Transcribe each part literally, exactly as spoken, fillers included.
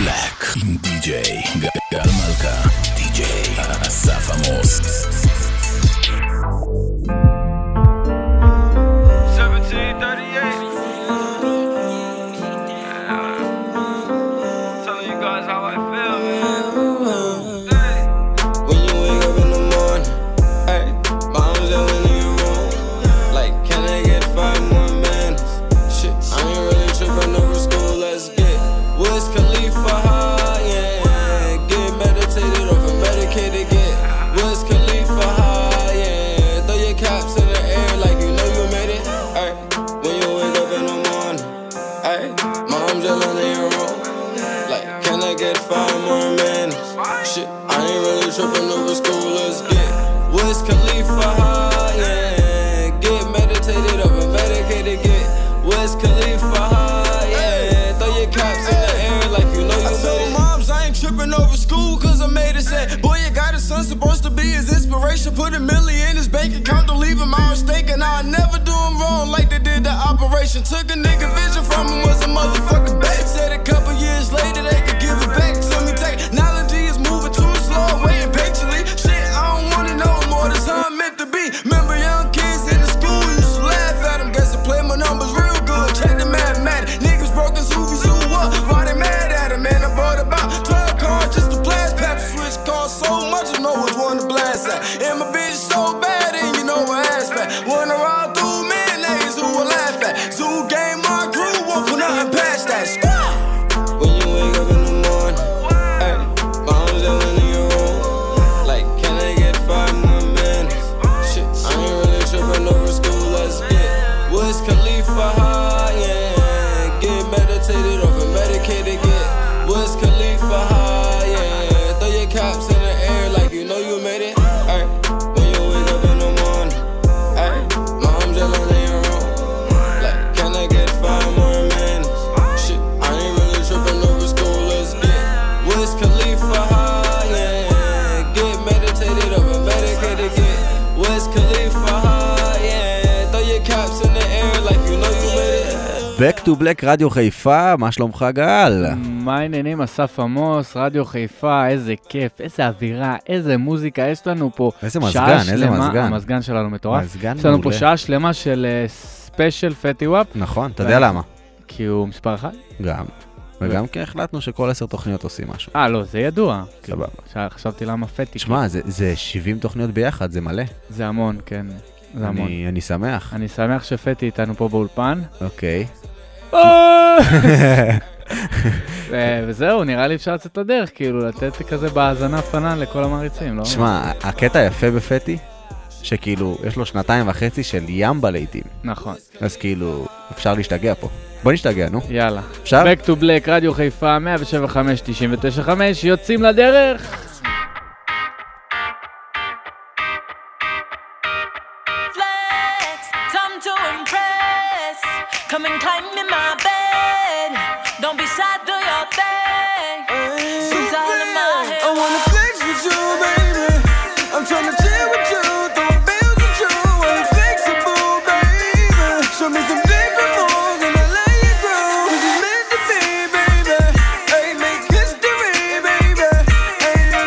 Black עם די-ג'יי גל מלכה, די-ג'יי אסף עמוס. Put a million in his bank account, don't leave him out mistaken. I'll never do him wrong like they did the operation. Took a nigga vision from him, was a motherfucking bait. Said a couple years later they could give it back. So me technology is moving too slow, waiting patiently. Shit, I don't wanna know more, that's how I'm meant to be. Remember young kids in the school used to laugh at him. Guess I play my numbers real good, check the mathematics. Niggas broke his hoovy zoo up, why they mad at him? Man, I bought about twelve cars just to blast. Pap switch cost so much, I know which one to blast at. And my bitch so bad, and you know her ass fat. Went around through men, niggas who will laugh at. Zoo game, my crew won't put nothing past that. Squad! When you wake up in the morning, ay, mom's yelling in your room. Like, can I get five more minutes? Shit, I ain't really tripping over school, let's get Wiz Khalifa high, yeah. Get meditated over medicated, get Wiz Khalifa high, yeah. Throw your caps in the air like you know you made it. Back to Black, רדיו חיפה, מה שלומך גל? מה העניינים, אסף עמוס, רדיו חיפה, איזה כיף, איזה אווירה, איזה מוזיקה, יש לנו פה איזה מזגן, איזה מזגן. המזגן שלנו מטורף. מזגן יש לנו מעולה. פה שעה שלמה של ספיישל פטי וואפ. נכון, אתה יודע למה? כי הוא מספר אחד? גם. וגם כי החלטנו שכל עשר תוכניות עושים משהו. אה, לא, זה ידוע. סבבה. חשבתי למה פטי. שמע, זה, זה שבעים תוכניות ביחד, זה מלא. זה המון, כן. זה המון. אני, אני שמח. אני שמח שפטי איתנו פה באולפן. אוקיי. וזהו, נראה לי אפשר לצאת לדרך, כאילו, לתת כזה בהאזנה פנן לכל המעריצים, לא? שמע, הקטע יפה בפטי, שכאילו, יש לו שנתיים וחצי של ים בלעיתים. נכון. אז כאילו, אפשר להשתגע פה. בוא נשתגע, נו. יאללה. אפשר? Back to Black, רדיו חיפה, מאה שבע וחמש תשעים ותשע חמש, יוצאים לדרך! Come and climb in my bed. Don't be shy, do your thing. It's all in my head. I wanna flex with you, baby. I'm tryna chill with you, throw bills with you. Wanna flexible, baby. Show me some different moves and I'll let you grow. 'Cause it's meant to be, baby. Hey, make history, baby. Hey,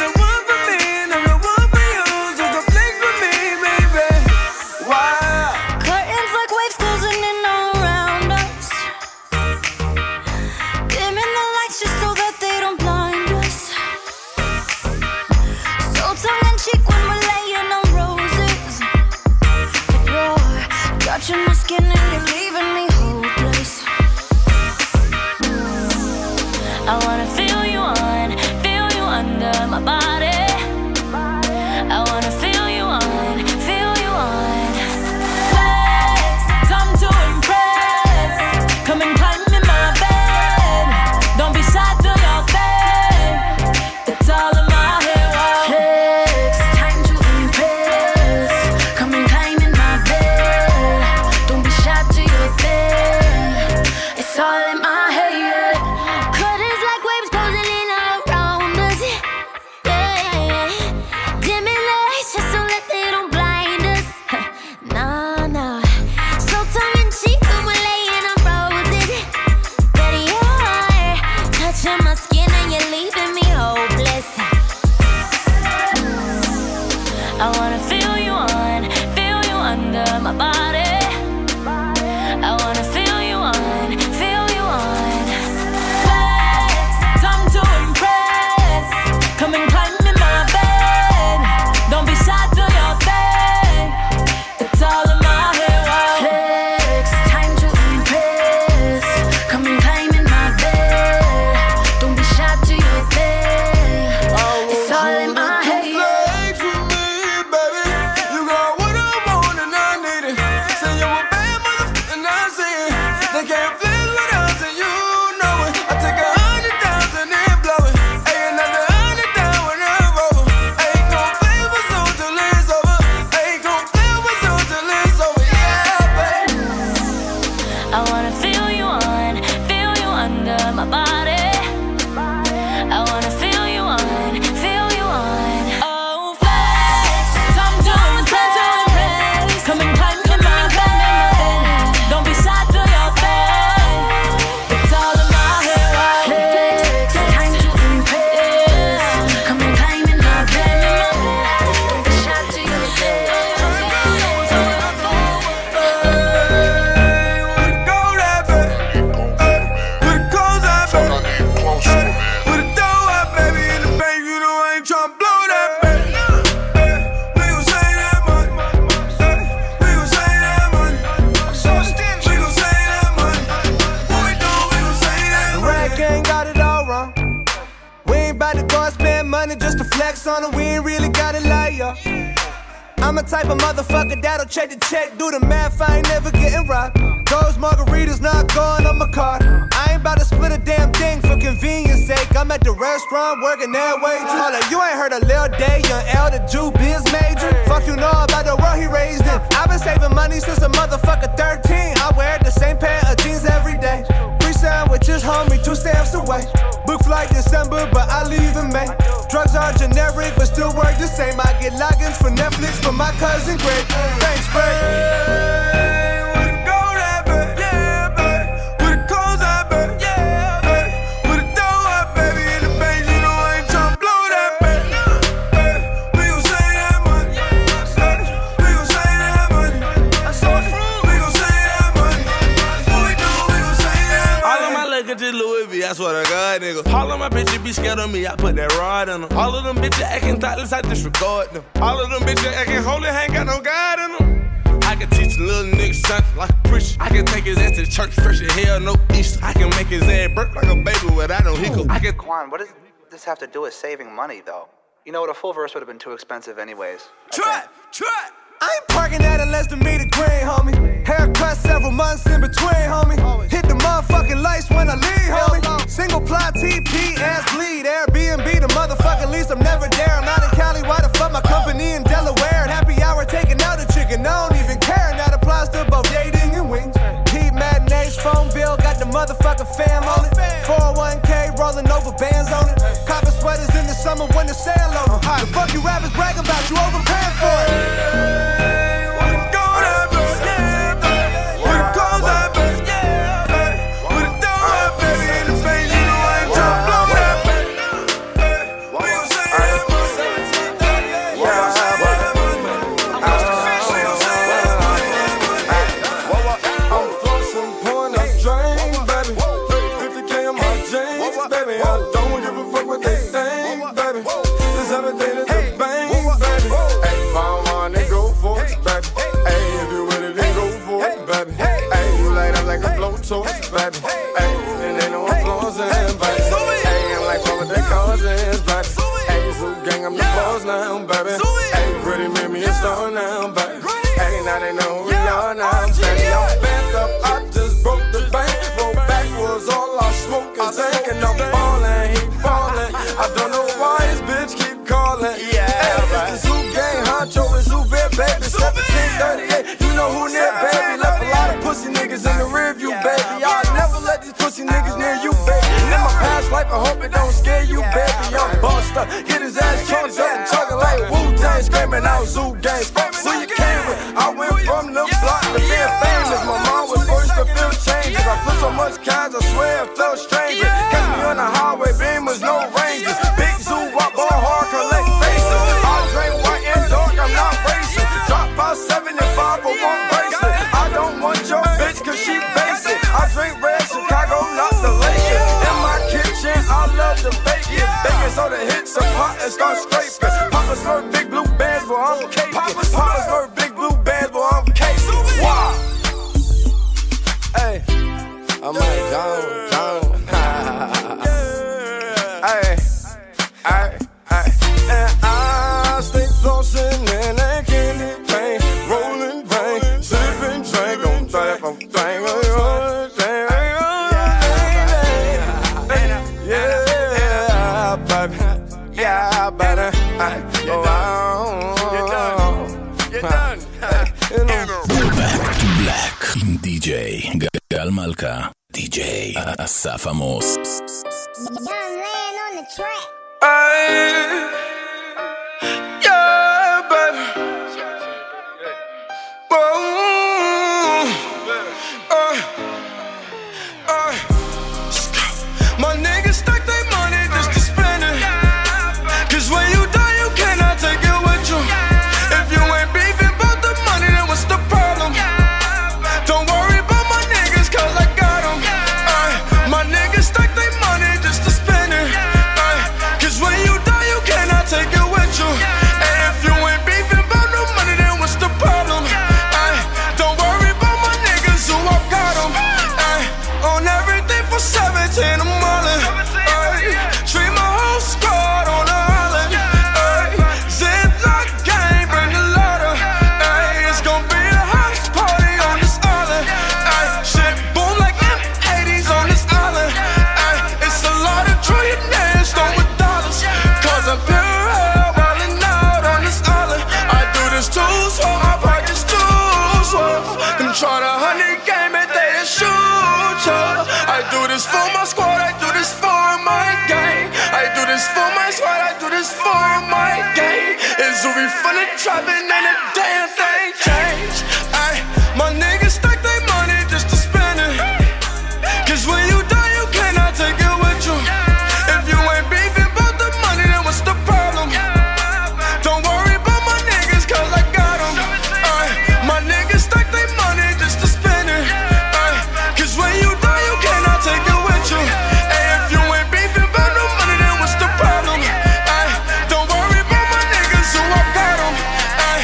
my body. I wanna feel you on, feel you on. Oh, flex, I'm doing time to impress. Come and climb in my bed. Don't be shy, do your best. It's all in my head. Flex, time to impress. Come and climb in my bed. Don't be shy, do your best. Just to flex on it, we ain't really gotta lie, yo. I'm a type of motherfucker that'll check the check, do the math, I ain't never getting robbed. Those margaritas not going on my card. I ain't about to split a damn thing for convenience sake. I'm at the restaurant working that way too. Hold up, you ain't heard of Lil Day, young L, the Jew biz major. Fuck you know about the world he raised in. I've been saving money since a motherfucker thirteen. I wear the same pair of jeans every day. Free sandwiches, homie, two stamps away. Book flight December, but I leave in May. Drugs are generic, but still work the same. I get logins for Netflix from my cousin Greg. Thanks, Greg. I swear to God, nigga. All of my bitches be scared of me, I put that rod in them. All of them bitches acting thoughtless, I disregard them. All of them bitches acting holy, ain't got no God in them. I can teach a little nigga something like a preacher. I can take his ass to the church, fresh as hell, no Easter. I can make his ass burp like a baby without no hiccup. I can. Quan, what does this have to do with saving money, though? You know what, a full verse would have been too expensive anyways. Try, try. I ain't parking at a less than meter green, homie. Haircut several months in between, homie. Hit the motherfucking lights when I leave, homie. Single ply T P, ass bleed. Airbnb, the motherfucking lease, I'm never there. I'm not in Cali, why the fuck my company in Delaware? And happy hour taking out a chicken, I don't even care. And that applies to both dating and wings. Heat matinees, phone bill, got the motherfucking fam on it. four oh one K, rolling over bands on it. Copper sweaters in the summer when the sale on it. The fuck you rappers bragging about, you overpaying for it. Baby, hey, and they know I'm flossing, baby. Hey, I'm like, what they causes, baby. Hey, Zoo gang, I'm the boss now, baby. Hey, pretty made me a star now, baby. Hey, now they know who we are now, baby. I'm bent up, I just broke the bank. Roll backwards, all I smoke is dank. And I'm falling, he falling. I don't know why his bitch keep calling. Yeah, hey, it's the Zoo gang, Honcho and Zoo Vet, baby. seventeen thirty-eight, you know who near, baby. Left a lot of pussy niggas in the rear view, baby. Pussy niggas near you, baby. In my past life, I hope it don't scare you, baby. I'm Buster, get his ass chunked up and chugging like Wu-Tang, screaming out Zoo gang. Who you came with? I went from the block to being famous. My mom was first to feel changes. I put so much cash, I swear it felt strange. Catch me on the highway, beamers, no ranges. Big Zoo, walk ball hard, collect faces. I drink white and dark, I'm not racing. Drop about seventy-five for one bracelet. I don't want your bitch, cause she basic. I drink red Chicago, not the Lakers. In my kitchen, I love the bacon. Bacon so the hits a pot and start scraping. Papa slurp big blue bands, boy, I'm caking. Papa slurp big blue bands, boy, I'm caking. Wow. Hey, I'm like, gone, gone. Hey, hey, hey. And I stay flossing in that candy paint. Rolling paint, sipping drink on trap, I'm drinking. Yeah, better. You're done. You're done. You're done. Back to Black עם די ג'יי גל מלכה, די ג'יי אסף עמוס. Yeah, baby. Uh, uh, my niggas stack their money just to spend it. Cause when you die, you cannot take it with you. If you ain't beefing about the money, then what's the problem? Don't worry about my niggas, cause I got them. Uh, my niggas stack their money just to spend it. Uh, cause when you die, you cannot take it with you. And if you ain't beefing about no money, then what's the problem? Uh, don't worry about my niggas who I got them. Uh, on everything for seventeen, I'm all in. Uh, treat my whole squad on the island. Uh, Ziploc gang, bring the ladder. Uh, it's gonna be a house party on this island. Uh, shit boom like M eighties on this island. Uh, it's a lot of trillionaires throwing with dollars. Cause I'm pure hell, wildin' out on this island. I do this too, so I practice too, so them try to honey game and they just shoot ya. I do this for my squad, I do this for my gang. I do this for my squad, I do this for my gang. It's Uri from the trapping and a damn thing changed. Ay, my niggas stack their money just to spend it. Cause when you die, you cannot take it with you. If you ain't beefing about the money, then what's the problem? Don't worry about my niggas, cause I got them. Ay, my niggas stack their money just to spend it. Ay, cause when you die, you cannot take it with you. And if you ain't beefing about no money, then what's the problem? Ay, don't worry about my niggas who I got them. Ay.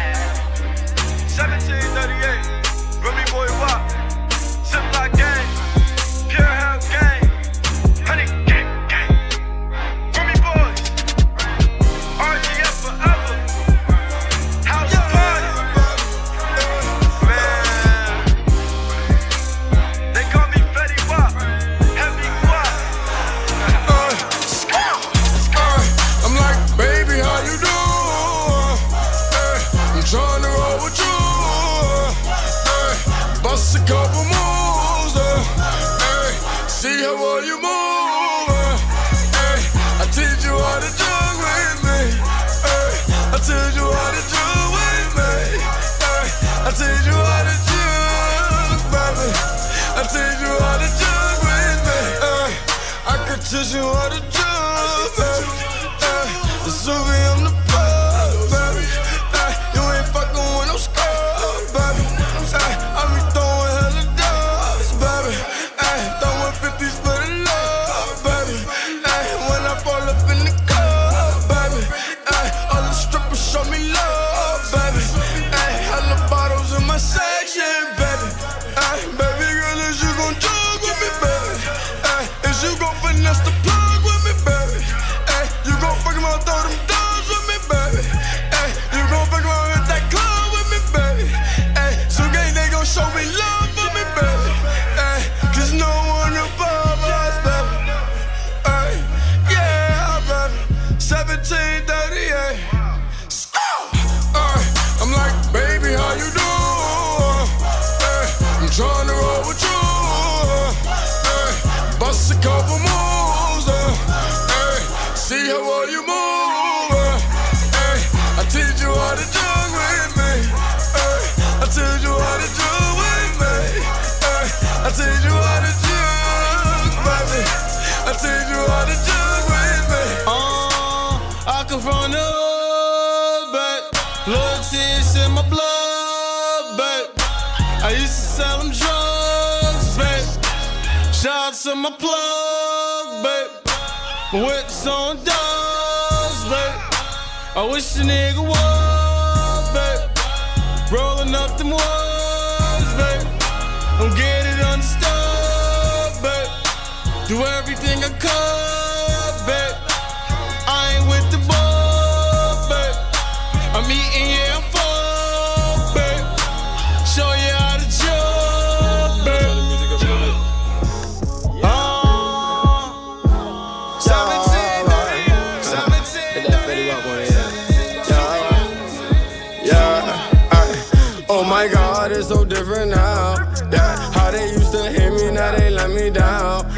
seventeen thirty-eight, Remy Boy Wop, Ziploc gang, Pure Hell gang, Honey gang gang, Remy Boys, R G F forever, House Party, man. They call me Fetty Wap, Heavy Wap. Uh, uh, I'm like, baby, how you doing? Uh, I'm trying to roll with you. Uh, bust a couple moves. Uh, uh, see how well you move. Uh, uh, I teach you how to jug with me. Uh, I teach you how to jug with me. Uh, I teach you how to jug, baby. I teach you how to jug with me. Uh, I can teach you how to jug, baby. Uh, the Suvi on the plug, baby. Uh, you ain't fucking with no scrub, baby. Uh, I be throwing hella dubs, baby. Uh, throwing fifties for the love, baby. Uh, when I fall up in the club, baby. Uh, all the strippers show me love, baby. Uh, hella bottles in my section, baby. Uh, baby girl, is you gon' jug with me, baby? Uh, is you gon' finesse the plug with me, baby? Uh, you gon' fuck around, throw them dogs with me, baby? Uh, you gon' fuck around, hit that club with me, baby? Uh, so gang, they gon' show me love for me, baby. Uh, Cause no one above us, baby. Uh, yeah, baby. seventeen thirty-eight. Uh, I'm like, baby, how you doing? Uh, I'm trying to roll with you. Uh, bust a couple moves. Uh, uh, see how well you move. Uh, uh, I teach you how to jug with me. Uh, I teach you how to jug with me. Uh, I teach you how to jug, baby. I teach you how to jug with me. Uh, I come from the hood, babe. Loyalty is in my blood, babe. I used to sell them drugs, babe. Shout out to my plug, babe. My whips on dogs, babe. I wish a nigga was, babe. Rolling up them walls, babe. Don't get it unstuck, babe. Do everything I could, babe. I ain't with the ball, babe. I'm eating, yeah, I'm full, babe. Show you how to jug, babe. Uh, seventeen, seventeen, yeah, yeah. Oh my God, it's so different now. Yeah, how they used to hit me, now they let me down.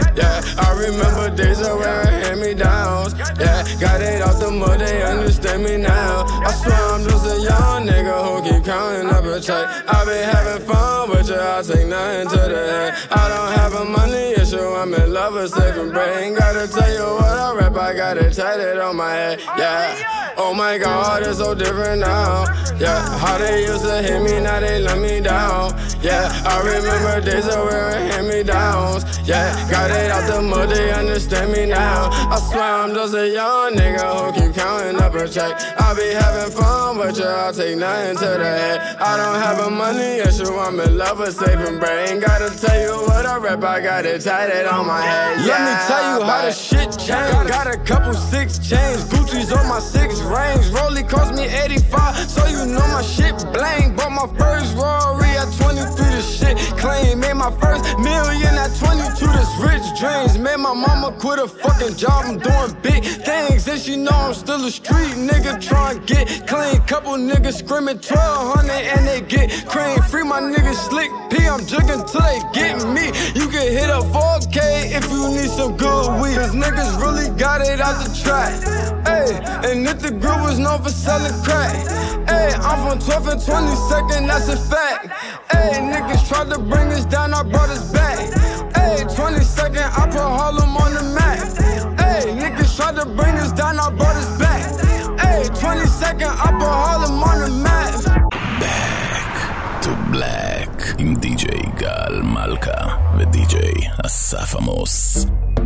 I remember days of wearing hand-me-downs. Yeah, got it off the mud, they understand me now. I swear I'm just a young nigga who keep counting up a check. I be having fun, but yeah, I take nothing to the head. I don't have a money issue, I'm in love with saving brain. Gotta tell you what I rap, I got it tatted on my head. Yeah, oh my God, it's so different now. Yeah, how they used to hit me, now they let me down. Yeah, I remember days of wearing hand-me-downs. Yeah, got it out the mud, they understand me now. I swear I'm just a young nigga who keep counting up a check. I be having fun, but yeah, I take nothing to the head. I don't have a money issue, I'm in love with saving brain. Gotta tell you what I rap, I got it tatted on my head. Yeah, let me tell you how the shit changed. Got a couple six chains, Gucci's on my six rings. Rollie cost me eighty-five, so you know my shit blank. Bought my first Rory at twenty-three, this shit clean. Made my first million at twenty-two, this rich dreams. Made my mama quit a fucking job, I'm doing big things. And she know I'm still a street nigga trying to get clean. Couple niggas screaming twelve hundred and they get cream. Free my niggas Slick P, I'm jugging till they get me. You can hit a four K if you need some good weed. Cause niggas really got it out the track. Ay, and if the group was known for selling crack. Ay, I'm from twelfth and twenty-second, that's a fact. Ay, niggas tried to bring us down, I brought us back. Ay, twenty-second, I put Harlem on the map. Ay, niggas tried to bring us down, I brought us back. Ay, twenty-second, I put Harlem on the map. Back to Black עם די-ג'יי גל מלכה ודי-ג'יי אסף עמוס.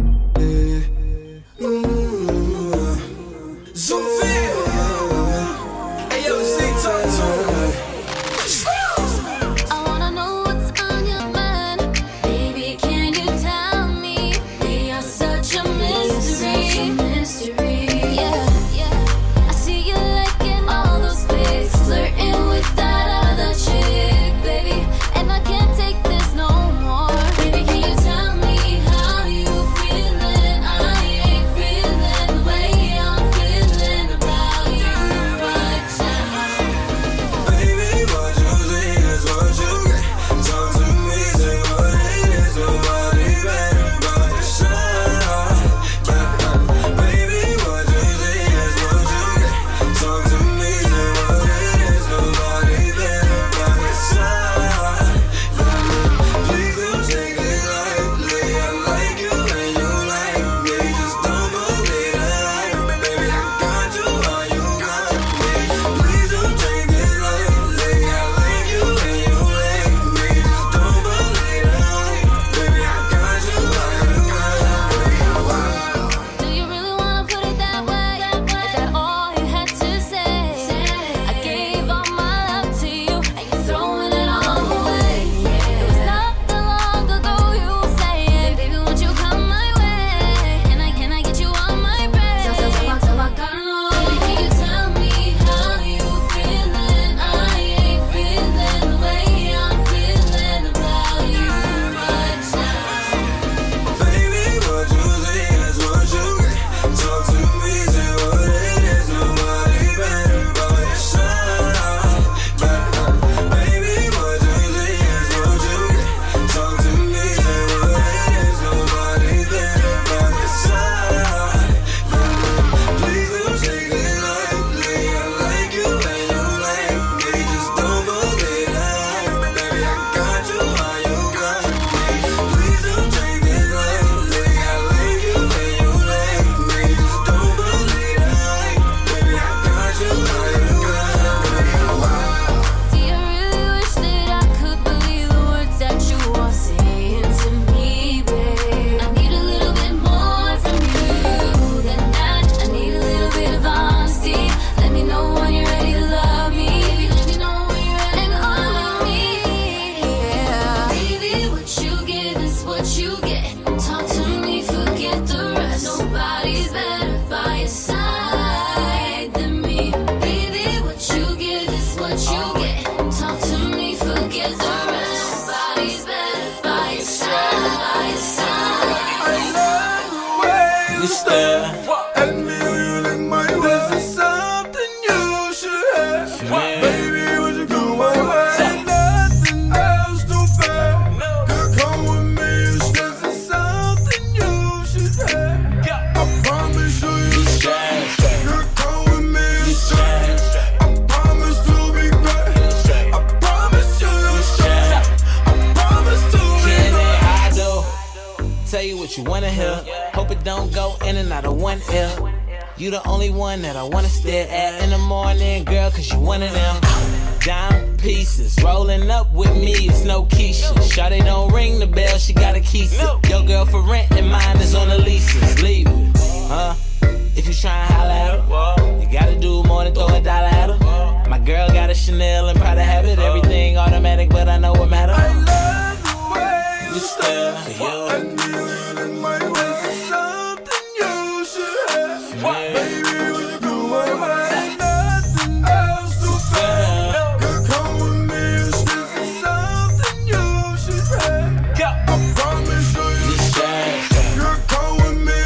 I wanna know what's on your mind. Baby, can you tell me? We are such a mystery. Yeah, yeah. I see you liking all those pics, flirting with that other chick, baby. And I can't take this no more. Baby, can you tell me how you feeling? I ain't feeling the way I'm feeling about you right now. Baby, what you see is what you get. Talk to me, say what it is. Nobody better by your side. Yeah. Baby, what you see is what you get. Talk to me, say what it is. Nobody better by your side. Yeah. Please don't take it lightly. I like you and you like me. Just don't believe the hype. Baby, I got you while you got me. Please don't take it lightly. I like you and you like me. Just don't believe the hype. Baby, I got you while you got me. Do you really wanna put it that way? Is that all you had to say? I gave all my love to you, and you're throwing it all away. It was not that long ago you were saying, baby, won't you come my way? Can I, can I get you on my brain? So, so, so, so I gotta know. Baby, can you tell me how you feeling? I ain't feeling the way I'm feeling about you right now. Baby, what you see is what you get. Talk to me, say what it is. Nobody better by your side. Yeah. Baby, what you see is what you get. Talk to me, say what it is. Nobody better by your side. Yeah. Please don't take it lightly. I like you and you like me. Just don't believe the hype. Baby, I got you while you got me. Please don't take it lightly. I like you and you like me. Just don't believe the hype. Baby, I got you while you got me. Do you really wish that I could believe the words that you are saying to me, babe? I need a little bit more from you than that. I need a little bit of honesty. Let me know when you're ready to love me. Baby, let me know when you're ready and all of me. Yeah. Baby, what you give is what you get. Talk to me, forget the rest. Nobody's better by your side than me. Baby, what you give is what you get. Talk to me, forget the rest. Nobody's better by your side, by your side. You stare at me when you lick my lips. This is something you should have. Baby, would you go my way? Nothing else to fair. Girl, come with me. This is something you should what you wanna hear. Hope it don't go in and out of one ear. You the only one that I wanna stare at in the morning, girl, cause you one of them. Down pieces, rolling up with me, it's no Keisha. Shawty don't ring the bell, she got a key. Your girl for rent and mine is on the leases. Leave it, huh? If you tryna holla at her, you gotta do more than throw a dollar at her. My girl got a Chanel and Prada habit, everything automatic, but I know what matter. I love the way You stare for you. I knew it in my ways is something you should have. Yeah. Baby, when you go my way, nothing else to fail. Girl, come with me, this is something you should have. I promise you, you girl, come with me,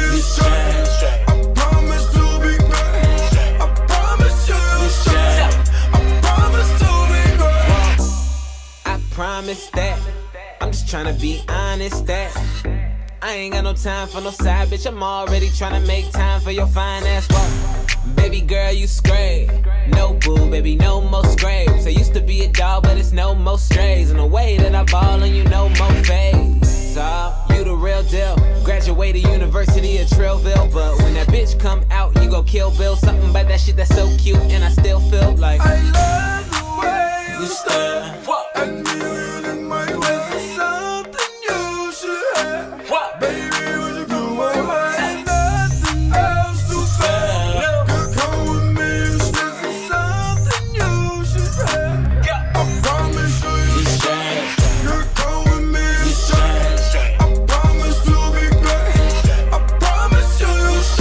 I promise to be great. I promise you, I promise to be great. I promise that. I'm just tryna be honest that I ain't got no time for no side bitch. I'm already tryna make time for your fine ass walk. Baby girl, you scrape. No boo, baby, no more scrapes. I used to be a dog, but it's no more strays. And the way that I ball on you, no more fades. So, you the real deal. Graduated University of Trillville, but when that bitch come out, you go kill Bill. Something about that shit that's so cute, and I still feel like I love the way you stare. I knew it in my ways is something you should have. Baby, when you go my way, nothing else to fail. Girl, come with me, this is something you should have. I promise you, girl, come with me, I promise to be great. I promise you,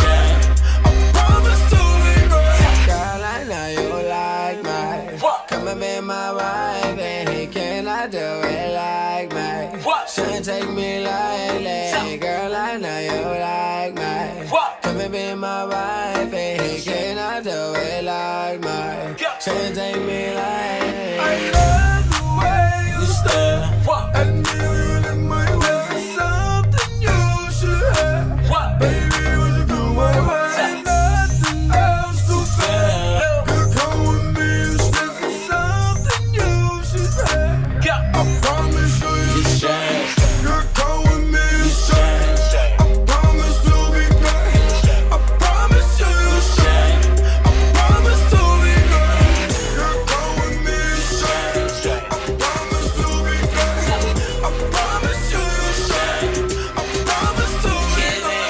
I promise to be great. Girl, I know you like me. Come and be my wife, baby. Can I do it like me? Shouldn't take me lightly. Girl, I know you like me. Come and be my wife, baby. Can I do it like me? Shouldn't take me lightly. I love the way You stare. I knew it in my ways is something you should have. Baby, when you go my way, nothing else to fail. Girl, come with me, this is something you should have. I promise you, girl, come with me, I promise to be great. I promise you, I promise to be great. Girl, come with me, I promise to be great. I promise you, I promise to be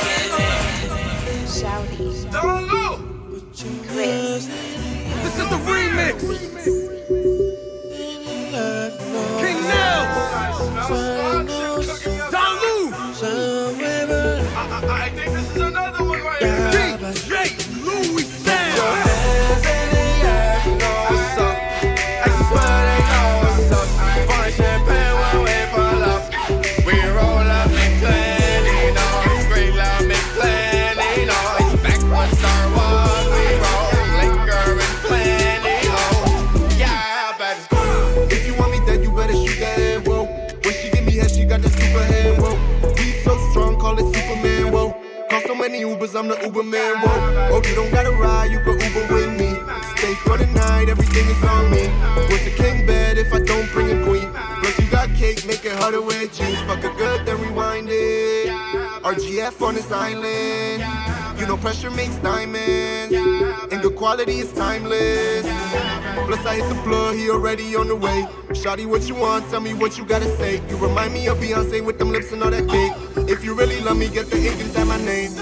great. Shouty, Don't know. Chris, This is the remix. King Nels. Don Lou. I, I, I think this is another one right here. D J Louis Stan. Your hands in the air, you know what's up. I swear they know what's up. Pouring champagne when we pull up. We roll up and clean, you know. Scream loud, make plenty noise. Back when Star Wars, we roll liquor and plenty, oh. Yeah, baby. If you want me dead, you better shoot that head, whoa. When she give me head, she got the super head, whoa. Beat so strong, call it Superman, whoa. Call so many Ubers, I'm the Uber man, whoa. Oh, you don't gotta ride, you can Uber with me. Stay for the night, everything is on me. What's the king bed if I don't bring a queen? Plus you got cake, make it harder with jeans. Fuck it good, then rewind it. R G F on this island. You know pressure makes diamonds. And good quality is timeless. Plus I hit the plug, he already on the way. Shawty, what you want? Tell me what you gotta say. You remind me of Beyonce with them lips and all that cake. If you really love me, get the ink and sign my name.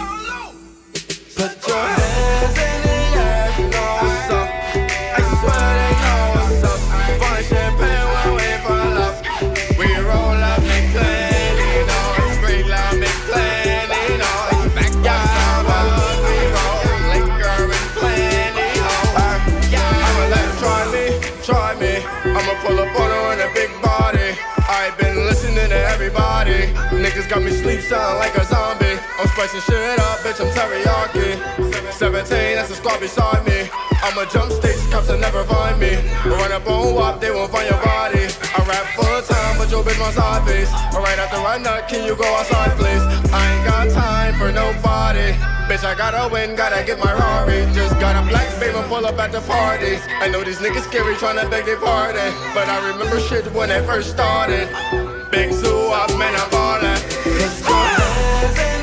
Put your hands in the air, you know what's up. I swear they know what's up. Pouring champagne when we pull up. We roll up and clean, you know. Scream loud, make plenty noise. Backyard, we roll liquor and plenty, oh. I'ma let her try me, try me. I'ma pull up on her in a big body. I been listening to everybody. Niggas got me sleep sounding like a zombie. I'm spicing shit up, bitch, I'm teriyaki. seventeen, that's a squad beside me. I'ma jump stakes, cops will never find me. Run up on W A P, they won't find your body. I rap full time, but your bitch my side face. Right after I nut, can you go outside, please? I ain't got time for nobody. Bitch, I gotta win, gotta get my Rari. Just got a black baby pull up at the party. I know these niggas scary tryna beg their pardon, but I remember shit when it first started. Big zoo up, man, I'm ballin'. Let's go.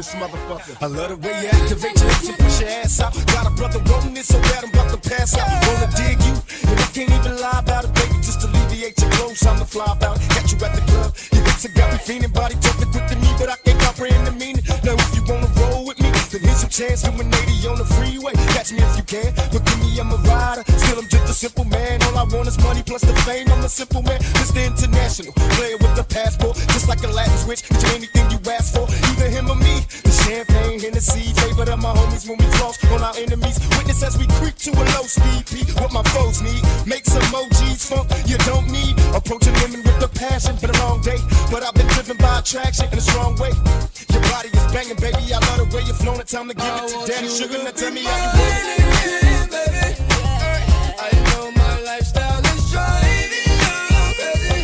this motherfucker. I love the way you activate your hips and push your ass out. Got a brother wanting it so bad I'm about to pass out. Wanna dig you, and I can't even lie about it, baby. Just alleviate your clothes, I'm the fly about it. Got you at the club, your hips have got me feeling. Body jumping quick to me, but I can't comprehend the meaning. Now if you wanna roll with me, then here's your chance. Doing eighty on the freeway, catch me if you can. But give me, I'm a rider, still I'm just a simple man. All I want is money plus the fame. I'm a simple man, Mister International, player with the passport, just like a Latin switch. Get you anything you ask for, either him or me. The champagne, Hennessy, favorite of my homies when we cross on our enemies. Witness as we creep to a low speed, P. What my foes need, make some emojis funk you don't need. Approaching women with the passion, been a long day, but I've been driven by attraction in a strong way. Your body is banging, baby. I love the way you're flowing. Time to give it to Daddy Sugar. Now tell me how you want it, baby. I know my lifestyle is driving you crazy,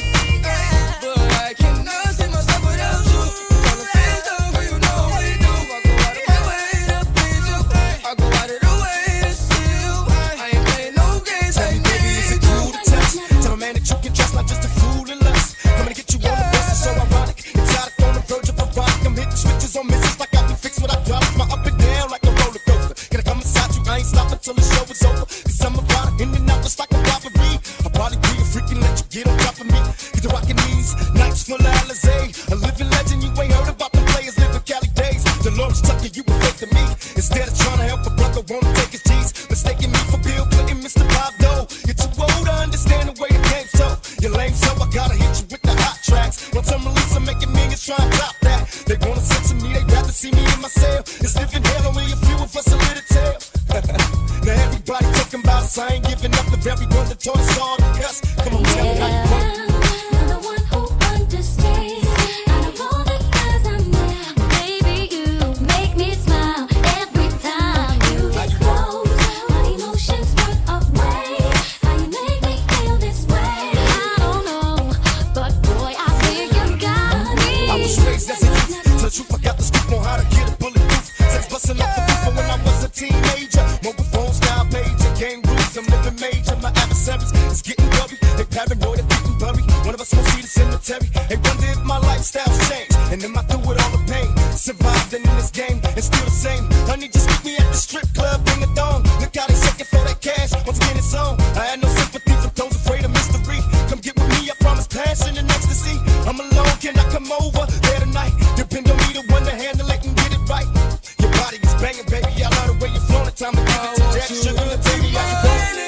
but I cannot see myself without you. All the things that you know we do, I go out of my way to please you. I go out of the way to see you. I ain't playing no games. Tell me, baby, is it cool to touch? Tell a man that you can trust, not just a fool and lust. Coming to get you on the bus, it's so ironic. Exotic on the verge of erotic. I'm hitting switches on misses like I can fix what I drop. My up and down like a roller coaster. Can I come inside you? I ain't stopping till the show is over. Cause I'm about it in and out just like a robbery. I'll probably be a freak and let you get on top of me. Cause you're rocking these nights full of Alizé. A living legend, you ain't heard about the players living Cali days. Dolores Tucker, you were fake to me. Instead of trying to help a brother, wanna take his G's. Mistaking me for Bill Clinton, Mister Bob Dole. You're too old to understand the way the game's told. You're lame, so I gotta hit you with the hot tracks. Once I'm released, I'm making millions trying to top that. They wanna censor me, they'd rather see me in my cell. It's living hell, only a few of us a little tale. Now everybody talking about us, I ain't giving up the very one that taught us all to cuss. Come on, tell me how you want it. You're the one who understands. Out of all the guys I met, baby, you make me smile every time you get close. My emotions run away. How you make me feel this way? I don't know, but boy, I feel you got me. I was raised as a youth, tell the truth, I got the scoop on how to get a bulletproof. Sex busting off the roof when I was a teenager. Mobile phone style pager, game rules, I'm living major. My adversaries is getting worried, they paranoid and getting buried. One of us gon' see the cemetery. They wonder if my lifestyle's changed, and am I through with all the pain? Survived in this game, and still the same. Honey, just meet me at the strip club, bring a thong. Look how they shaking for that cash, once again it's on. I had no sympathy for those afraid of mystery. Come get with me, I promise passion and ecstasy. I'm alone, can I come over there tonight? Depend on me, the one to handle it and get it right. Your body is banging, baby, I love the way you're flowing. Time to give it to Daddy Sugar. Now tell me how you want it.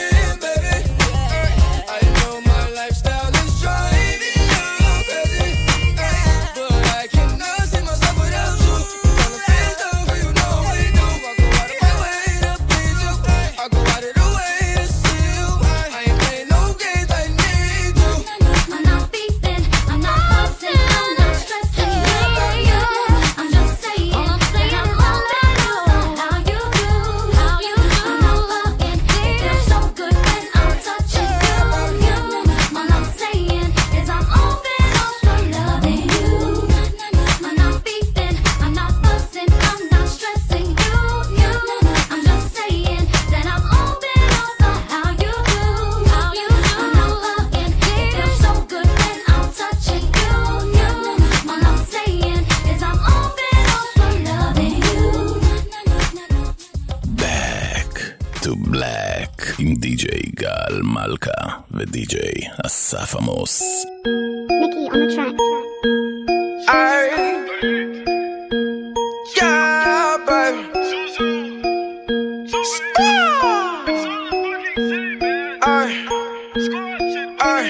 I know my lifestyle is driving you crazy, but I cannot see myself without you. All the things that you know we do, I go out of my way to please you. I go out of the way to see you. I ain't playing no games, I need you. I'm not beefing, I'm not fussing, I'm not stressing over you. I'm just saying, all I'm saying is all I know. How you do, how you do. I'm not loving, it feels so good when I'm touching you. You, all I'm saying is I'm open up for loving you. I'm not beefing, I'm not fussing, I'm not stressing you. You, I'm just saying that I'm open up for how you do, how you do. I'm not loving, it feels so good when I'm touching you. You, all I'm saying is I'm open up for loving you. Back to Black עם די-ג'יי גל מלכה ודי-ג'יי אסף עמוס. Mickey on the track. Aye. Yeah, baby. Aye. Aye.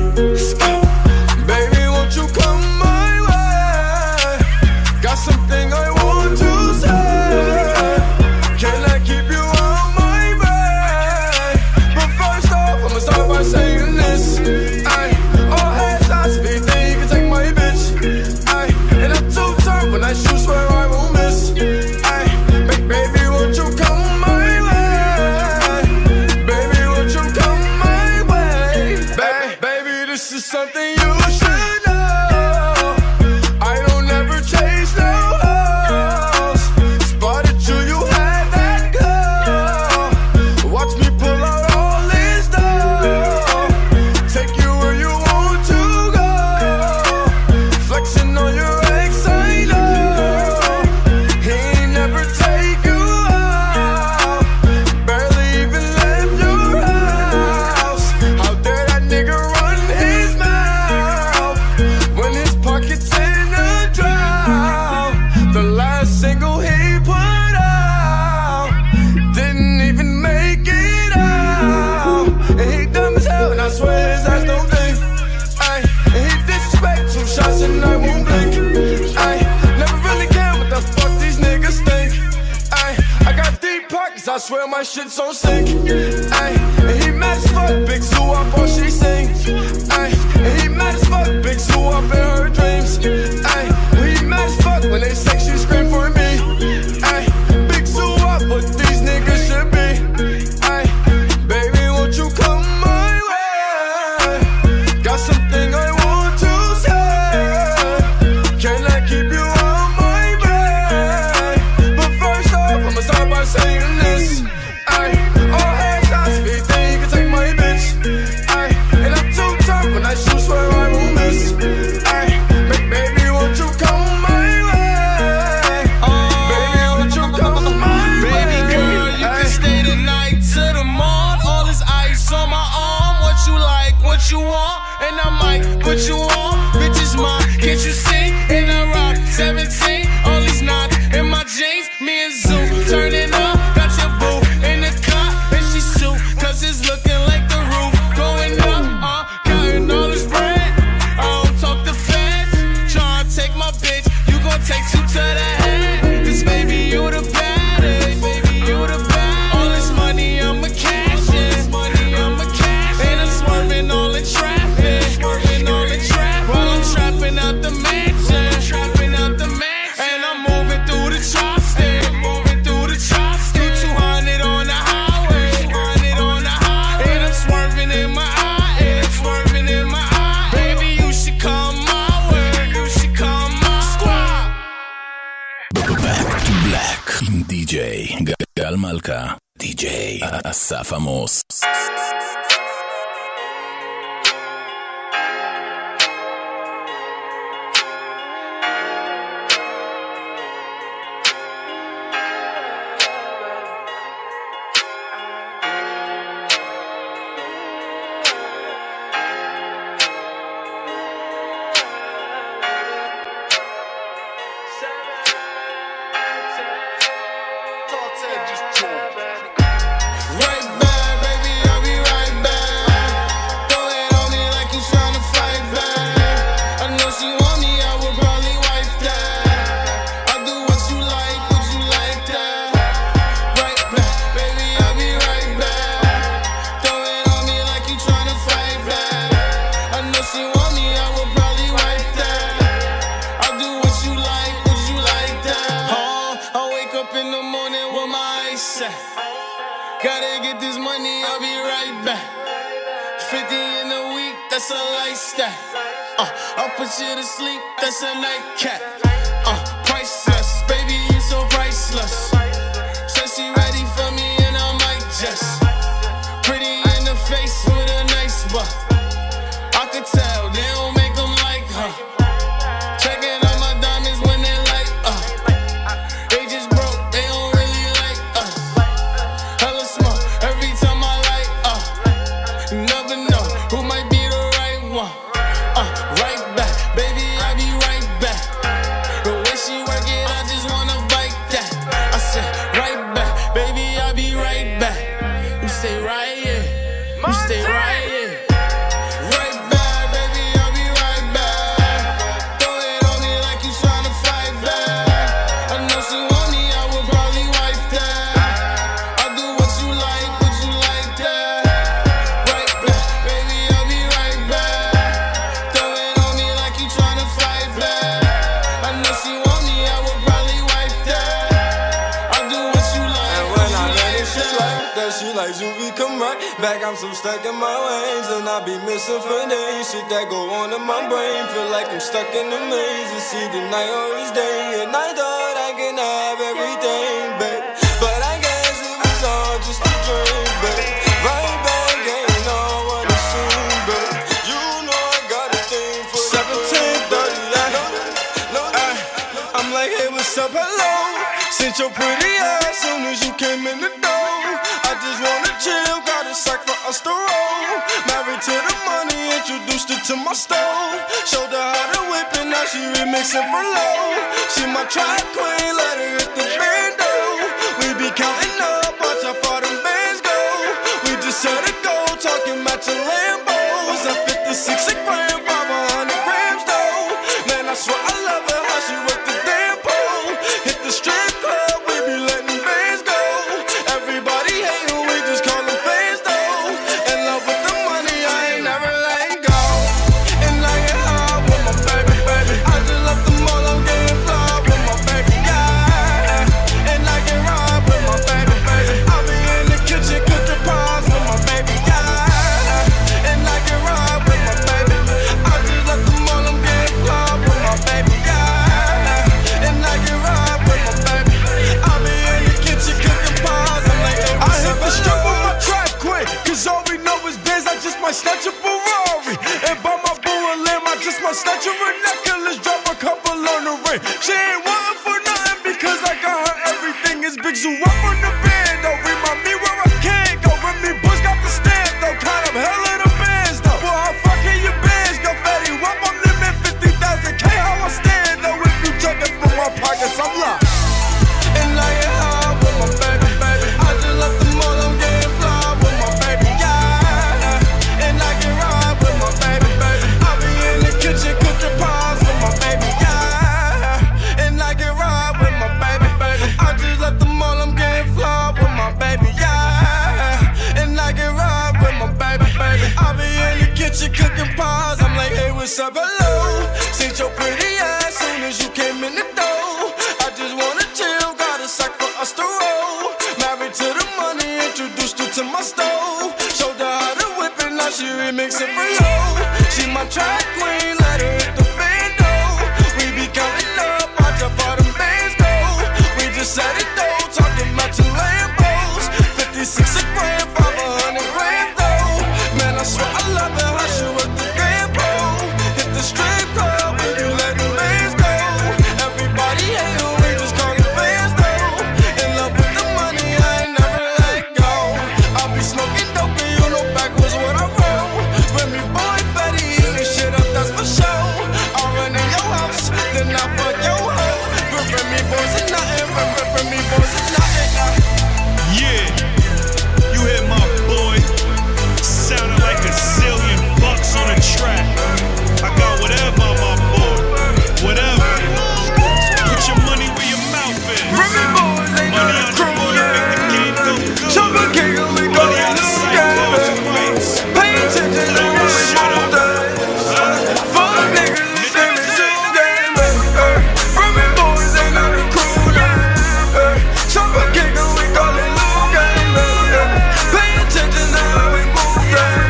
Baby, won't you come my way? Got something I want to say. Can I keep you on my way? But first off, I'ma start by saying this. Aye. All hands I speak, then you can take my bitch. Aye. And I'm too turned when I shoot, swear I won't miss. Aye. Ba- baby, won't you come my way? Baby, won't you come my way? Ba- baby, this is something you should know. I don't ever chase no hoes. Spotted you, you had that girl. Watch me pull out all this dough. Take you where you want to go. Flexing on your ex, I know. and I swear his ass don't think. Ay, and he disrespect two shots and I won't blink. Ay, never really care what the fuck these niggas think. Ay, I got deep pockets, I swear my shit's on sync. Ay, and he mad as fuck, big zoo up all she sing. Ay, and he mad as fuck, big zoo up in her dreams. Ay, when he mad as fuck, when they sex she scream for me. Ay, big zoo up, but these niggas should be. Ay, baby, won't you come my way? Got something I want to say. Can I keep you on my bed? But first off, I'ma start by saying this. Ay, all headshots if you think you can take my bitch. Ay, and I'm too tough when I shoot, swear I won't miss. Ay, baby, won't you come my way? Baby, won't you come my way? Baby girl, you can stay the night to the morn. All this ice on my arm. What you like, what you want, and I might put you on. Bitch is mine, can't you see? In a rock, seventeen, all these knots in my jeans. Me and Zoo turning up, got your boo in the car, and she sue, cause it's looking like the roof going up. Uh, counting all this bread. I don't talk to feds. Try and take my bitch, you gon' take two to the head. Cause baby, you the baddest. Baby, you the baddest. All this money, I'ma cash it. Money, I'ma cash it. And I'm swerving all in traffic. Swerving all in traffic. While I'm trapping out the mansion. Trapping out the mansion. And I'm moving through the tri-state. Moving through the tri-state. two hundred on the highway. two hundred on the highway. And I'm swerving in my eye. And I'm swerving in my eye. Baby, you should come my way. You should come my squad. Back to Black עם די-ג'יי גל מלכה, די-ג'יי אסף עמוס. Right back, baby, I'll be right back. Throw it on me like you tryna fight back. I know she want me, I would probably wife that. I'll do what you like, what you like that. Right back, baby, I'll be right back. Throw it on me like you tryna fight back. I know she want me, I would probably wife that. I'll do what you like, what you like that. Oh, I wake up in the morning with my eyes set. Gotta get this money, I'll be right back. fifty in a week, that's a lifestyle. Uh, I'll put you to sleep, that's a nightcap. Uh, priceless, baby, you so priceless. Said she ready for me and I might just. Pretty in the face with a nice butt. I could tell, they don't make them like her. Checking out my diamonds when they light up. They just broke, they don't really like us. Hella smoke every time I light up. You never know who might be the right one. Uh, right back, baby, I'll be right back. The way she work it, I just wanna bite that. I said, right back, baby, I'll be right back. You stay right here, you stay right here. Right back, baby, I'll be right back. Throw it on me like you tryna fight back. I know she want me, I would probably wife that. I'll do what you like, what you like that. Right back, baby, I'll be right back. Throw it on me like you tryna fight back. I know she want me, I would probably wife that. I'll do what you like, And what when I you let like it, she that. like that. She like Zuby, come right back. I'm so stuck in my ways, and I be missing for days. Shit that go on in my brain, feel like I'm stuck in a maze. It's either night or it's day, and I thought I can have everything, babe. But I guess it was all just a dream, babe. Right back, ain't all what it seemed, babe. You know I got a thing for seventeen thirty. No, I'm like, hey, what's up, hello? Since your pretty ass soon as you came in the door. I just wanna chill, got a sack for us to roll. Married to the money, introduced her to my stove. Showed her how to whip it, now she remixing for low. She my track queen, let her hit the bando. We be counting up, watch how far them bands go. We just set a goal, talking matching Lambo. cooking pies. I'm like, hey, what's up, hello? Seen your pretty ass soon as you came in the door. I just wanna chill, got a sack for us to roll. Married to the money, introduced her to my stove. Showed her how to whip it, now she remix it for low. She my track queen, let her hit the bando. We be counting up, watch how far them bands go. We just set it though, talking about your Lambos. fifty-six a grand, five hundred grand though. Man, I swear I love it, how she work the grand pole. Hit the strip club, when you let the bands go. Everybody hate her, we just call it fans though. In love with the money, I ain't never let go. I'll be smoking dope and you know backwards what I roll. Remy boy, Betty, eating shit up, that's for sure. I'll run in your house, then I fuck your hoe. Remy boys is nothing, Remy boys is nothing. Yeah, you hear my boy, sounding like a zillion bucks on a track. I got whatever on my board, whatever. Put your money where your mouth is. Remy boys ain't Money nothing on the cruel, board, make the game go good. Chop a king and we go Money on the side, balls and fights. pay attention to Never what we shut move up. down. Fuck niggas, we screaming shoot game. Remy boys ain't nothing cruel. Chop a king and we call it loot game. Pay attention to how we move down.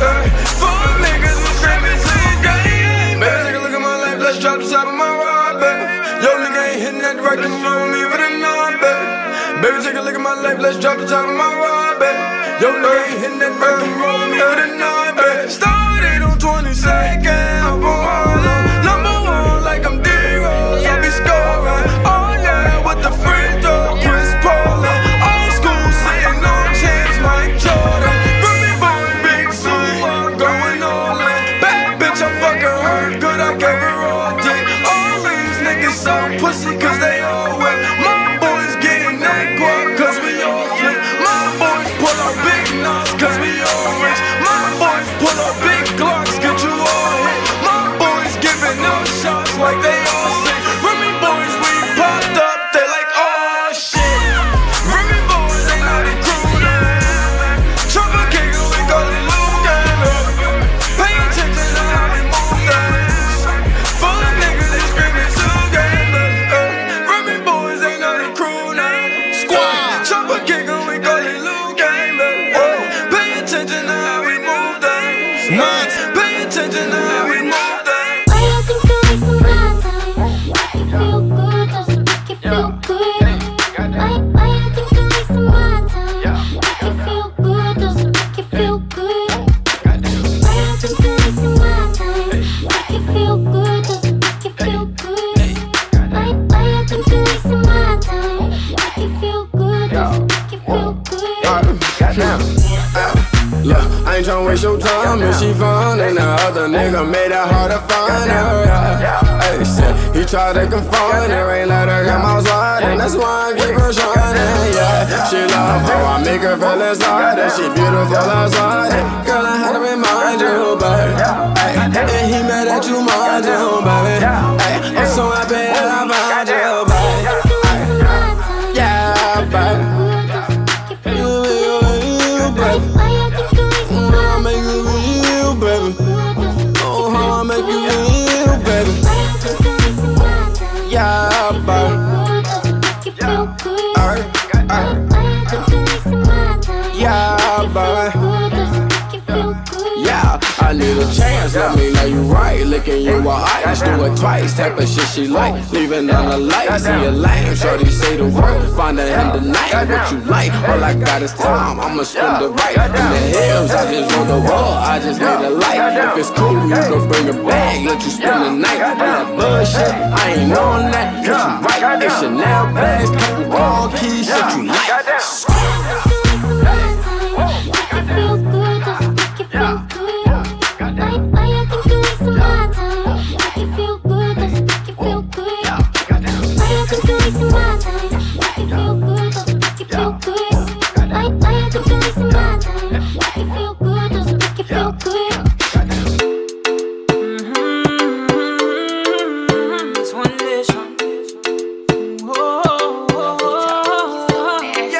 Fuck niggas, we screaming shoot game. Baby, take a look at my life, let's drop the top of my ride, baby. Yo, nigga ain't hitting that right, come roll me for the night, baby. Baby, take a look at my life, let's drop the top of my ride, baby. Yo, nigga ain't hitting that right, come roll me for the night, baby. Started on twenty-second of Harlem. Number one, like I'm D-Rose, I be scoring. Oh yeah, with the free throw, Chris Paul. Old school, sitting on chance, Mike Jordan. Remy boy, big Sue, I'm going all in. Bad bitch, I'm fucking her, good, I gave her all dick. All these niggas so pussy, cause they all wet. My boys getting that guap, cause we all flip. My boys pull out big nuts, cause we all rich. My boys pull out big glocks, get you all hit. My boys giving up shots like they all sick. Remy boys, we popped up, they like, oh shit. Remy boys ain't nothing cool. Chop a king and we call it loot game. Pay attention to how we move down. Full of niggas, they screaming shoot game. Remy boys ain't nothing cool now. Squad. Chop a king and we call it loot game. Pay attention to how we move down. Pay attention to how we move down. Why you think you're wasting my time? Make you feel good, doesn't make you feel good. Why, why you think you're wasting my time? Make you feel good, doesn't make you feel good. Why you think you're wasting my time? Make you feel good, doesn't make you feel good. Why, why you think you're wasting my time? Make you feel good, doesn't make you feel good. Look, I ain't tryna waste your time. If she fine, and the other nigga made it hard to find her. Yeah. Hey, shit, he tried to confine her, ain't let her come outside, and that's why I keep her shining. Yeah, she love how I make her feel inside, and she beautiful outside. Girl, I had to remind you, baby. Hey, and he mad at you, mind you, baby. Hey, I'm so happy that I found you, baby. Yeah, baby. You, you, you, baby. I'll make you real, baby. Oh, how I make you real, baby. Yeah, baby. Alright, alright. Yeah, baby. Yeah, I need a chance, let me know you right. Licking you with ice, do it twice. Type of shit she like, leaving on the light. See a lame, shorty say the word. Find her in the night, what you like. All I got is time, I'ma spend it right. In the hills, I just want the wall, I just need a light. If it's cool, you can bring a bag, let you spend the night. All that bullshit, I ain't on that, get you right. It's Chanel bags, couple ball keys, shit you like. Feel good, doesn't make you feel good. Why, why you think you're wasting my time? Make you feel good, doesn't make you feel good. Why you think you're wasting my time? Make you feel good, doesn't make you feel good. Why, why you think you're wasting my time? Make you feel good, doesn't make you feel good. It's one nation. Oh, oh, oh, oh.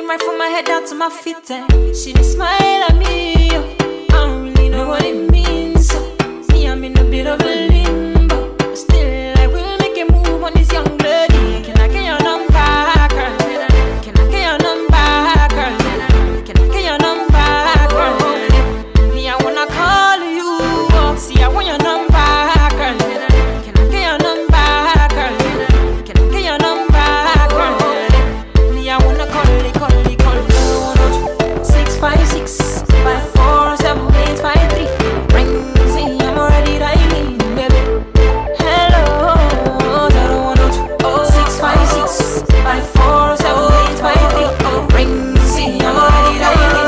right from my head down to my feet. And she did smile at me. I don't really know what it means. So, me, I'm in a bit of a limbo. But still, I will make a move on this young blood. Can I get your number, girl? Can I get your number, girl? Can I get your number, girl? Me, I wanna call you. See, I want your number, girl. Can I get your number, girl? Can I get your number, girl? Me, I wanna call it, call it, call it. Six five six five four seven eight five three. Ring, see, I'm already dialing, baby. Hello, zero one zero two six five six five four seven eight five three. Ring, see, I'm already dialing.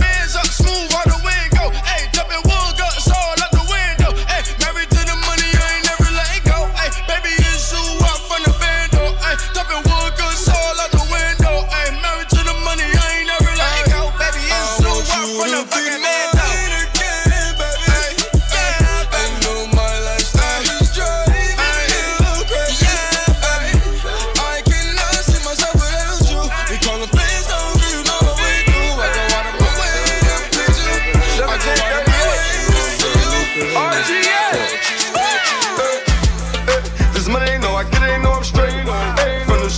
Smooth out the window, hey, jumping wood guts all out the window, hey, married to the money, I ain't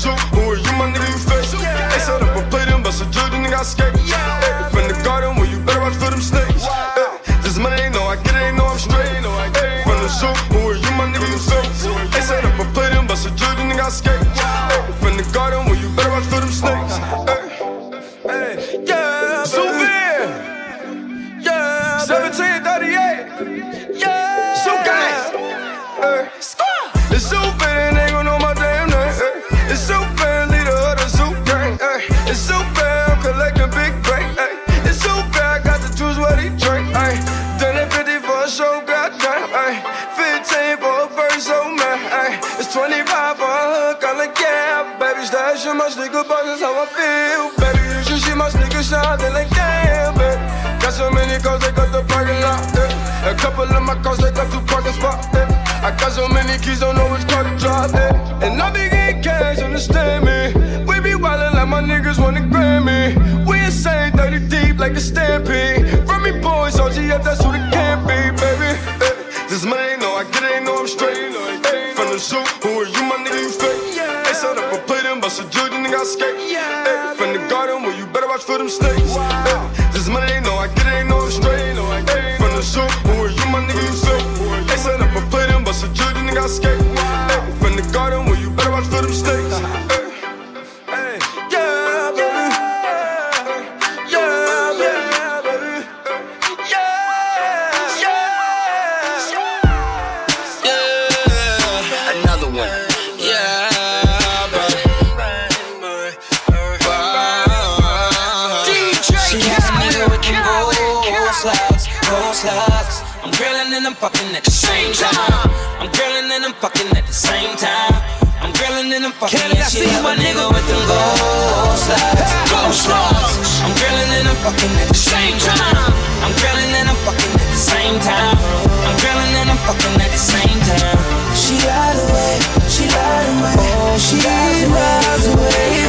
zoo, who are you, my nigga, you fake? They set up a plate and bust a judge and nigga I skate. Hey, from the garden where you better watch for them snakes. Hey, this money ain't no, I get it, ain't no, I'm straight. Hey, from the zoo, who are you, my nigga, you fake? They set up a plate and bust a judge and nigga I skate. Hey, from the garden where you better watch for them snakes. Hey, hey, yeah, Zouvir. Yeah, seventeen thirty-eight. Yeah, Zoo gang. Hey, it's Zoo bad, ain't gon' know my damn name. Hey, it's Zoo bad, leader of the Zoo gang. Hey, it's Zoo bad, I'm collecting big bank. Hey, it's Zoo bad, got the juice what he drink. Hey, done it fifty for a show, goddamn. Hey, fifteen for a verse, oh man. Hey, it's twenty-five for a hook, I'm like yeah, baby. Stash in my sneaker box, that's how I feel, baby. You should see my sneakers shine, they like damn, baby. Got so many cars, they got the parking lot. Yeah. A couple of my cars, they got two parking spots. Yeah. I got so many keys, don't know which car to drive. Yeah. And I be getting cash, understand me. We be wildin' like my niggas wanna grab me. We insane, thirty deep like a stampede. From me boys, O G F, that's who they can be, baby. Yeah. This money ain't no, I get it, ain't no, I'm straight. Yeah. From the zoo, who are you, my nigga, you fake? Yeah. They set up a plate and bust a judge and nigga I skate. Yeah. Yeah. From the garden where you better watch for them snakes. Wow. Yeah. This money ain't no, I get it, ain't no, I'm straight. Hey, from the zoo, who are you, my nigga, you fake? They set up a plate and bust a judge and nigga I skate. Hey, from the garden where you better watch for them snakes. Hey, hey, yeah, baby. Yeah, baby. Yeah, yeah, yeah. Another one. Yeah, baby. D J Khaled, Khaled, Khaled. I'm grilling and I'm fucking at the same time. I'm grilling and I'm fucking at the same time. I'm grilling and I'm fucking and she love a nigga with them gold slugs, gold slugs. I'm grilling and I'm fucking at the same time. I'm grilling and I'm fucking at the same time. I'm grilling and I'm fucking at the same time. She lied away, she lied away, oh, she lies away,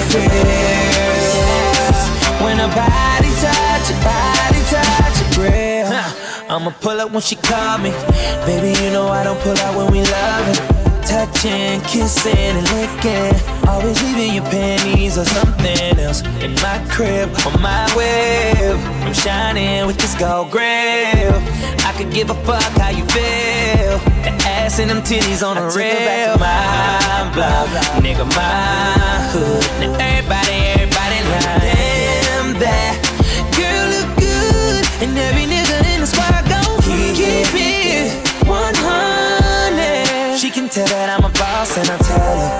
fears. When her body touch, her body touch, her grill. I'ma pull up when she call me. Baby, you know I don't pull out when we loving. Touching, kissing, and licking. Always leaving your panties or something else in my crib, on my web. I'm shining with this gold grill. I could give a fuck how you feel. The ass and them titties on the real. My block, nigga, my hood. Now everybody, everybody like damn that girl look good. And every nigga in the squad gon' keep it one hundred. She can tell that I'm a boss and I tell her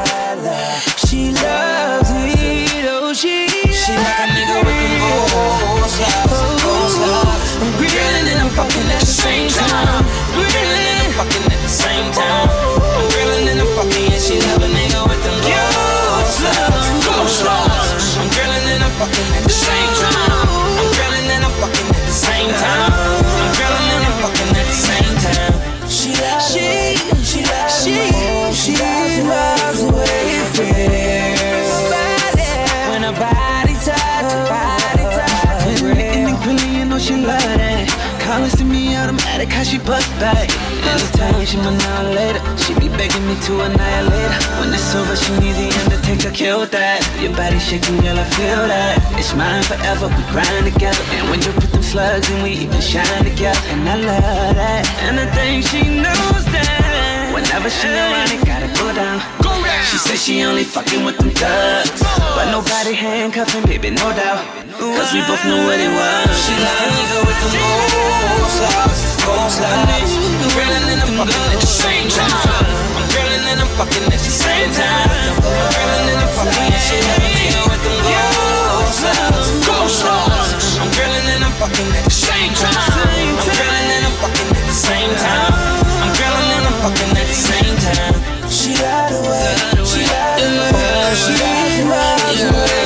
she loves it, oh she She like a nigga with them gold slugs, gold slugs. I'm grilling and I'm fucking at the same time. Grilling and I'm fucking at the same time. I'm grilling and I'm fucking and she love a nigga with them gold slugs, gold slugs. I'm grilling and I'm fucking at the same time. I'm grilling and I'm fucking at the same time. I'm grilling and I'm fucking at the same time. She loves she, she loves she, she loves the way it feels. When her body touch, her body touch. And the grilling, you know she love that. Calling to me automatic, how she bust back. Anytime she annihilate her, she be begging me to annihilate her. When it's over, she needs the Undertaker, kill that. Your body shaking, girl, I feel that. It's mine forever, we grind together. And when you put them slugs in, we even shine together. And I love that, and I think she knows that. Whenever she around, it gotta go down. She says she only fucking with them thugs, but nobody handcuffing, baby, no doubt. Cause we both know what it was. She like a nigga with them gold slugs, gold slugs. I'm grilling and I'm fucking at the same time. I'm grilling and I'm fucking at the same time. I'm grilling and I'm fucking and she like a nigga with them gold slugs, gold slugs. I'm grilling and I'm fucking at the same time. I'm grilling and I'm fucking at the same time. I'm grilling and I'm fucking at the same time. She lied away, she lied away, she lied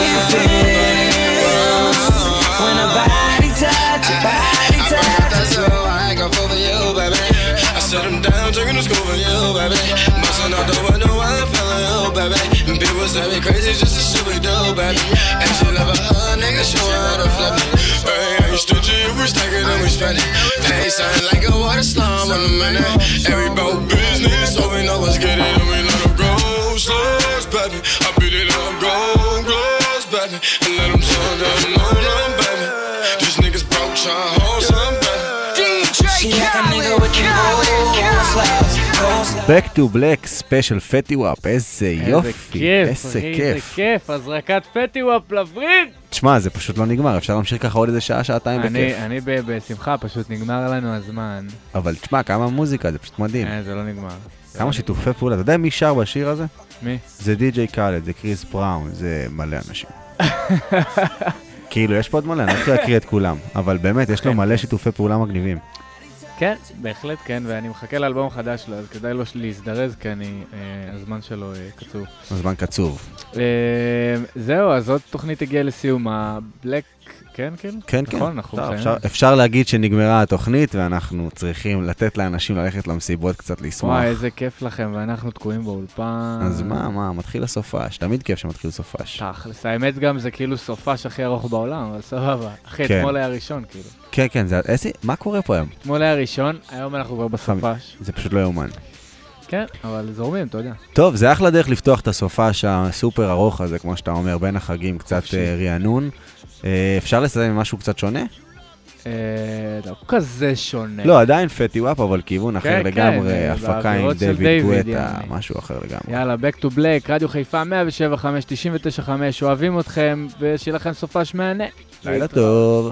away. When her body touch, her body touch. That's all I got for you, baby. I set him down, taking the school for you, baby. Bustin' out the window while I fell on you, baby. And people say me crazy just to shit we do, baby. And she love a hug, nigga, show her how to flip it. Hey, ain't stingy, we stack it and we spend it. Hey, sound like a water slum in a minute. Every boat business, so we know what's good and we let them go. Slugs, baby. I beat it up, gold gloves, baby. And let them turn down, no, no, baby. These niggas broke, trying to hold some, baby. D J Khaled, Khaled, Khaled. Back to Black ספיישל פטי וואפ, איזה יופי, איזה כיף. איזה כיף, הזרקת פטי וואפ לווריד. תשמע, זה פשוט לא נגמר, אפשר להמשיך ככה עוד איזה שעה, שעתיים בכיף. אני בשמחה, פשוט נגמר לנו הזמן. אבל תשמע, כמה מוזיקה, זה פשוט מדהים. זה לא נגמר. כמה שיתופי פעולה, אתה יודע מי שר בשיר הזה? מי? זה די ג'יי קאלד, זה קריס בראון, זה מלא אנשים. כאילו, יש פה עוד מלא, אני לא יכול להקריא את כולם, אבל באמת, יש לו מלא שיתופי פעולה מגניבים. כן, בהחלט כן, ואני מחכה לאלבום חדש שלו, אז כדאי לו להזדרז, כי אני, אה, הזמן שלו אה, קצוב. הזמן קצוב. אה, זהו, אז עוד תוכנית הגיעה לסיום, הבלק, כן, כאילו? כן, נכון, כן. אנחנו טוב, אפשר, אפשר להגיד שנגמרה התוכנית, ואנחנו צריכים לתת לאנשים ללכת למסיבות קצת לשמוח. וואי, איזה כיף לכם, ואנחנו תקועים באולפן. אז מה, מה, מתחיל הסופש, תמיד כיף שמתחיל סופש. תכלס, האמת גם זה כאילו סופש הכי ארוך בעולם, אבל סבבה. אחי, כן. אתמול היה ראשון, כאילו. כן, כן, זה, איזה, מה קורה פה היום? אתמול היה ראשון, היום אנחנו כבר בסופש. זה פשוט לא יאומן. כן, אבל זורמים, אתה יודע. טוב, זה אחלה דרך לפתוח את הסופש הסופר ארוך הזה, כמו שאתה אומר, בין החגים, קצת רענון. אפשר לסיים עם משהו קצת שונה? לא כזה שונה. לא, עדיין פטי וואפ, אבל כיוון אחר לגמרי, הפקה עם דיוויד גואטה, משהו אחר לגמרי. יאללה, Back to Black, רדיו חיפה מאה שבע חמש תשעים ותשע חמש, אוהבים אתכם, ושיהיה לכם סופש מהנה. לילה טוב.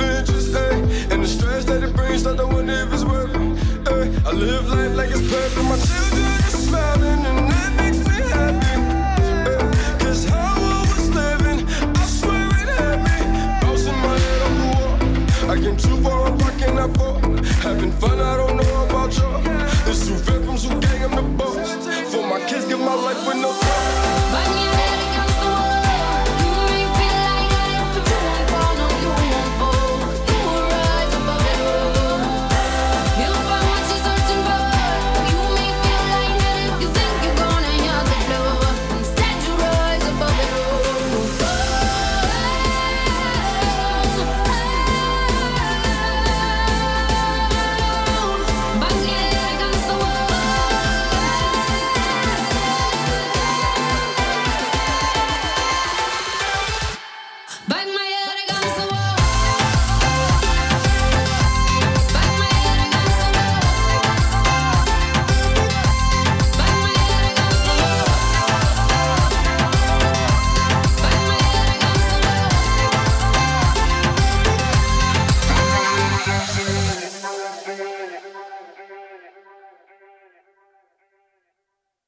I live life like it's perfect.